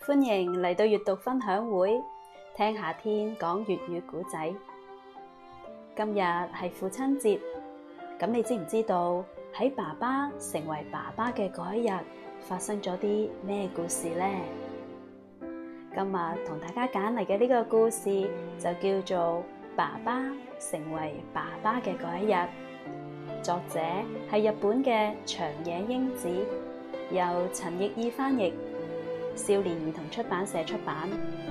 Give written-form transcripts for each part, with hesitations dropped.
歡迎嚟到閱讀分享會，聽夏天講粵語故仔。今日係父親節，咁你知唔知道喺爸爸成為爸爸嘅嗰一日發生咗啲咩故事呢？今日同大家揀嚟嘅呢個故事就叫做《爸爸成為爸爸嘅嗰一日》，作者係日本嘅長野英子，由陳奕意翻譯，少年兒童出版社出版。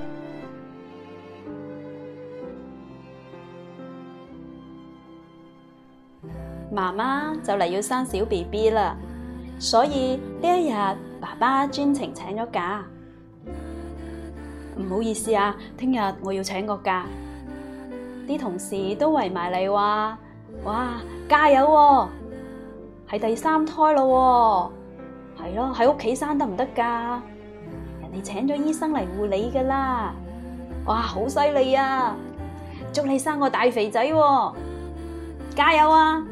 媽媽就嚟要生小 BB 啦，所以呢一日爸爸專程請咗假。唔好意思啊，聽日我要請個假。啲同事都圍埋嚟話：哇，加油喎！係第3胎咯喎，係咯，喺屋企生得唔得㗎？人哋請咗醫生嚟護理㗎啦。哇，好犀利啊！祝你生個大肥仔喎，加油啊！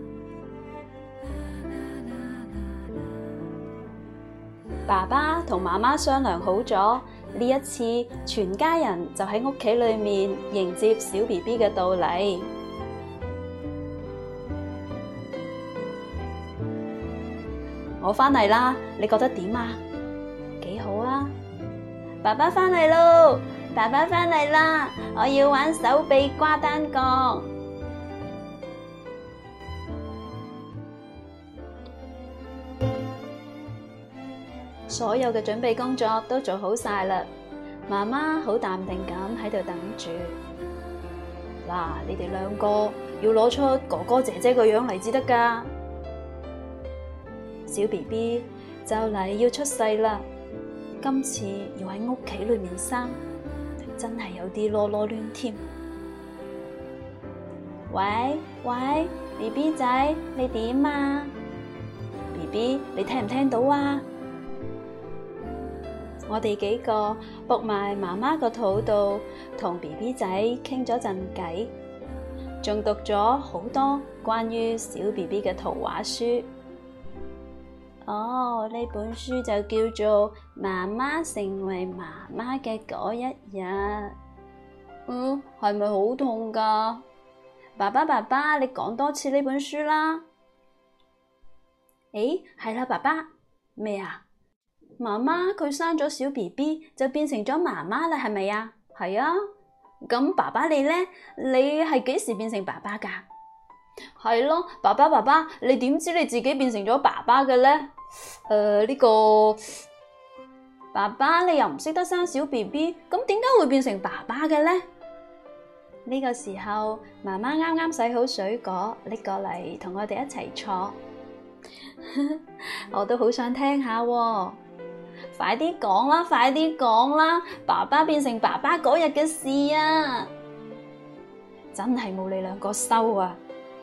爸爸同媽媽商量好咗，呢一次全家人就喺屋企裏面迎接小 BB 嘅到嚟。我返嚟啦，你覺得點啊？幾好啊！爸爸返嚟咯，爸爸返嚟啦，我要玩手臂瓜單槓。所有嘅準備工作都做好晒啦，媽媽好淡定咁喺度等住。嗱，你哋兩個要攞出哥哥姐姐個樣嚟至得噶。小 BB 就嚟要出世啦，今次要喺屋企裏面生，真係有啲囉囉攣添。喂喂 ，BB 仔，你點啊 ？BB， 你聽唔聽到啊？我哋幾個伏埋媽媽個肚度，同 BB 仔傾咗陣偈，仲讀咗好多關於小 BB 嘅圖畫書。哦，呢本書就叫做《媽媽成為媽媽嘅嗰一日》。係咪好痛噶？爸爸，你講多次呢本書啦。誒，係啦，爸爸，咩啊？媽媽佢生咗小 BB 就變成咗媽媽啦，係咪啊？係啊。咁爸爸你呢？你係幾時變成爸爸噶？係咯，爸爸，你點知你自己變成咗爸爸嘅呢？呢個爸爸你又唔識得生小 BB， 咁點解會變成爸爸嘅呢？呢個時候媽媽啱啱洗好水果拎過嚟同我哋一齊坐。我都好想聽下喎。快啲講啦！爸爸變成爸爸嗰日嘅事啊，真係冇你兩個收啊！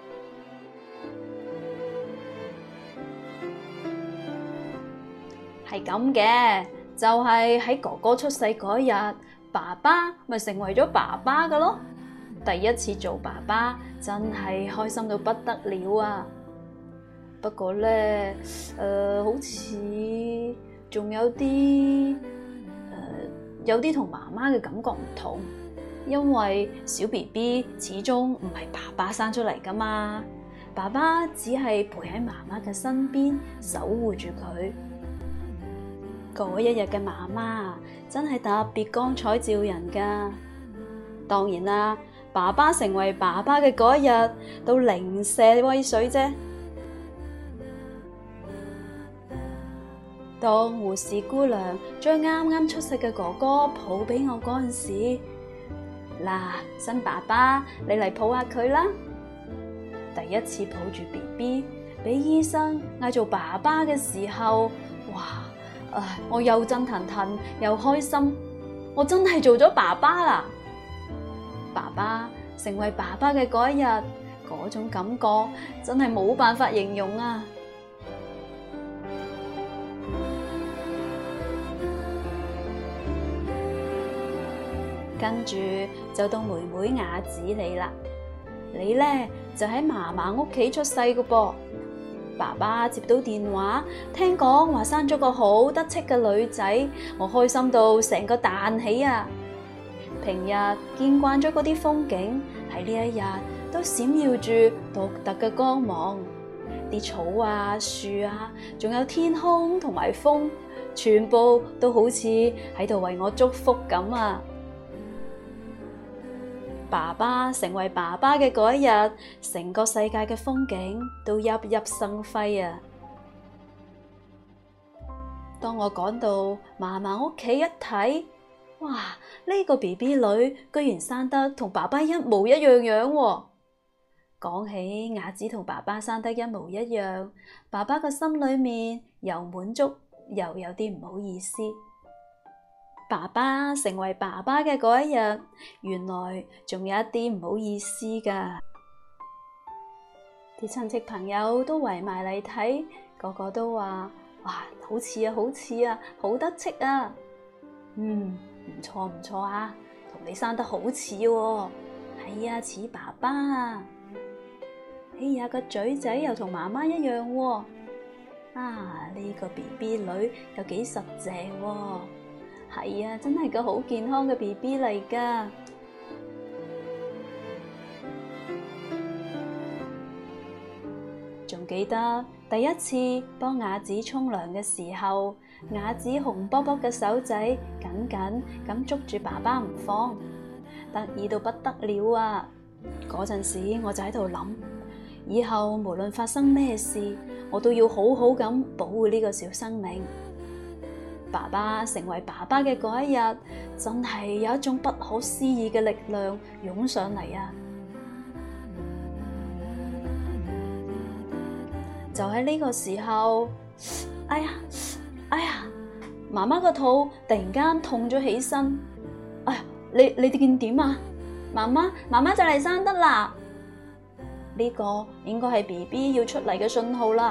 係咁嘅，就係喺哥哥出世嗰日，爸爸咪成為咗爸爸㗎咯。第一次做爸爸，真係開心到不得了啊！不過呢，好似仲有啲同媽媽嘅感覺唔同，因為小 BB 始終唔係爸爸生出嚟噶嘛，爸爸只係陪喺媽媽嘅身邊守護住佢。嗰一日嘅媽媽真係特別光彩照人噶。當然啦，爸爸成為爸爸嘅嗰一日都零舍威水啫。當護士姑娘將啱啱出世嘅哥哥抱俾我嗰陣時，嗱，新爸爸，你嚟抱下佢啦。第一次抱住 BB， 俾醫生嗌做爸爸嘅時候，哇！我又震騰騰又開心，我真係做咗爸爸啦！爸爸成為爸爸嘅嗰一日，嗰種感覺真係冇辦法形容啊！跟住就到妹妹雅子你啦，你呢就喺嫲嫲屋企出世㗎噃。 爸爸接到電話，聽講話生咗個好得戚嘅女仔，我開心到成個彈起啊！平日見慣咗嗰啲風景，喺呢一日都閃耀住獨特嘅光芒，啲草啊、樹啊，仲有天空同埋風，全部都好似喺度為我祝福咁啊！爸爸成為爸爸嘅嗰一日，成個世界嘅風景都熠熠生輝啊！當我趕到嫲嫲屋企一睇，哇！呢個 BB 女居然生得同爸爸一模一樣樣喎！講起雅子同爸爸生得一模一樣，爸爸嘅心裏面又滿足又有啲唔好意思。爸爸成為爸爸嘅嗰一日，原來仲有一啲唔好意思㗎。啲親戚朋友都圍埋嚟睇，個個都話：哇，好似啊，好似啊，好得戚啊！唔錯唔錯啊，同你生得好似喎。係啊，似爸爸啊。哎呀，個嘴仔又同媽媽一樣喎。啊，呢個 BB 女又幾實淨喎。係啊，真係個好健康嘅 BB 嚟㗎。仲記得第一次幫雅子沖涼嘅時候，雅子紅卜卜嘅手仔緊緊咁捉住爸爸唔放，得意到不得了啊！嗰陣時我就喺度諗，以後無論發生咩事，我都要好好咁保護呢個小生命。爸爸成為爸爸嘅嗰一日，真係有一種不可思議嘅力量湧上嚟啊！就喺呢個時候，哎呀，媽媽個肚突然間痛咗起身。哎呀，你哋見點啊？媽媽就嚟生得啦！呢個應該係 BB 要出嚟嘅信號啦。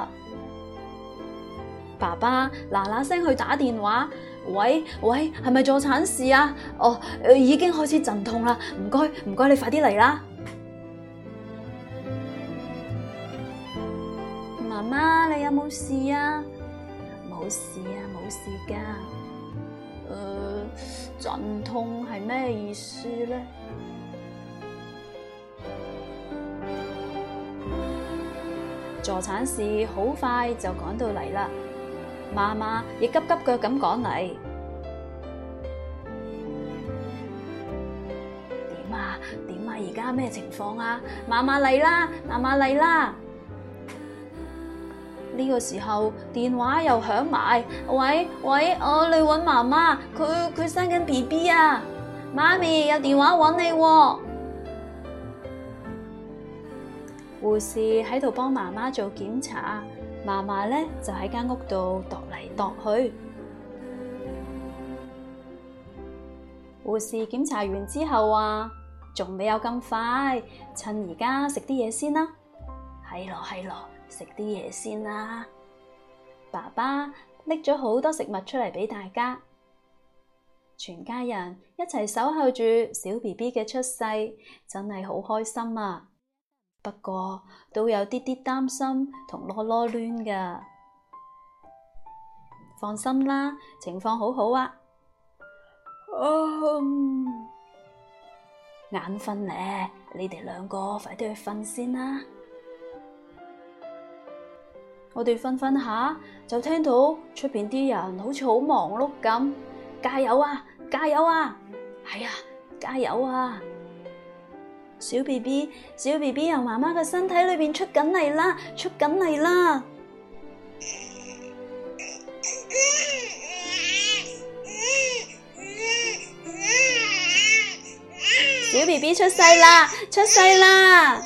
爸爸嗱嗱聲去打電話，喂，係咪助產士啊？哦，已經開始陣痛啦，唔該，你快啲嚟啦！媽媽，你有冇事啊？冇事啊，冇事噶。陣痛係咩意思咧？助產士好快就趕到嚟啦。媽媽亦急急腳咁趕嚟。點啊？而家咩情況啊？媽媽嚟啦！呢個時候電話又響埋，喂，你搵媽媽，佢生緊 BB 啊！媽咪有電話搵你喎。護士喺度幫媽媽做檢查。媽媽咧就喺間屋度踱嚟踱去。護士檢查完之後話：仲未有咁快，趁而家食啲嘢先啦。係咯，食啲嘢先啦。爸爸拎咗好多食物出嚟俾大家，全家人一齊守候住小 BB 嘅出世，真係好開心啊！不過都有啲啲擔心同囉囉攣㗎。放心啦，情況好好啊。眼瞓咧，你哋兩個快啲去瞓先啦。我哋瞓下就聽到出邊啲人好似好忙碌咁，加油啊！係啊，加油啊！小 BB 由媽媽嘅身體裏邊出緊嚟啦！小 BB 出世啦！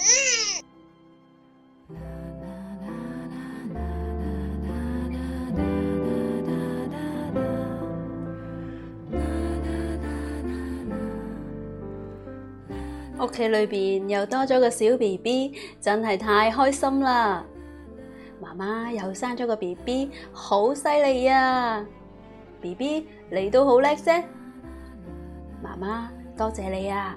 屋企裏邊又多咗個小 BB，真係太開心啦！媽媽又生咗個 BB，好犀利啊 ！BB 你都好叻啫，媽媽多謝你啊！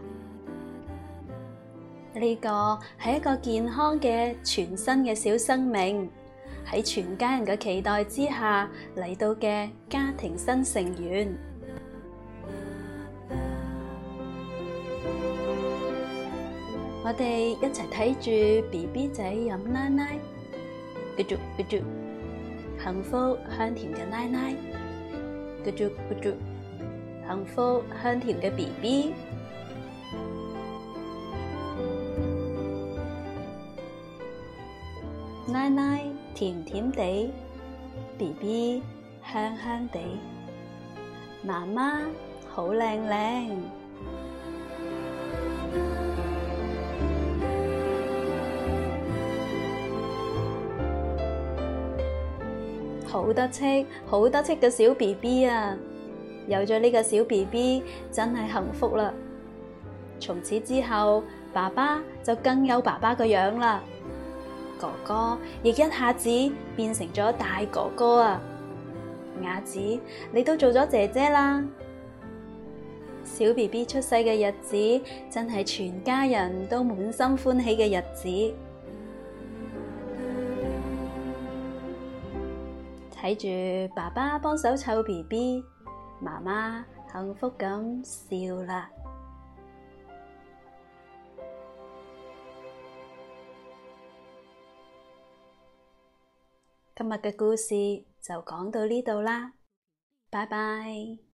呢個係一個健康嘅全新嘅小生命， 喺全家人嘅期待之下嚟到嘅家庭新成員。我哋一齊睇住 BB 仔飲奶奶，咕嘟咕嘟，幸福香甜嘅奶奶，咕嘟咕嘟，幸福香甜嘅 BB。奶奶甜甜地 ，BB 香香地，媽媽好靚靚。好得戚，好得戚嘅小 BB 啊！有咗呢個小 BB 真係幸福啦。從此之後，爸爸就更有爸爸個樣啦。哥哥亦一下子變成咗大哥哥啊！雅子，你都做咗姐姐啦！小 BB 出世嘅日子，真係全家人都滿心歡喜嘅日子。睇住爸爸幫手湊 BB，媽媽幸福咁笑啦。今日嘅故事就講到呢度啦，拜拜。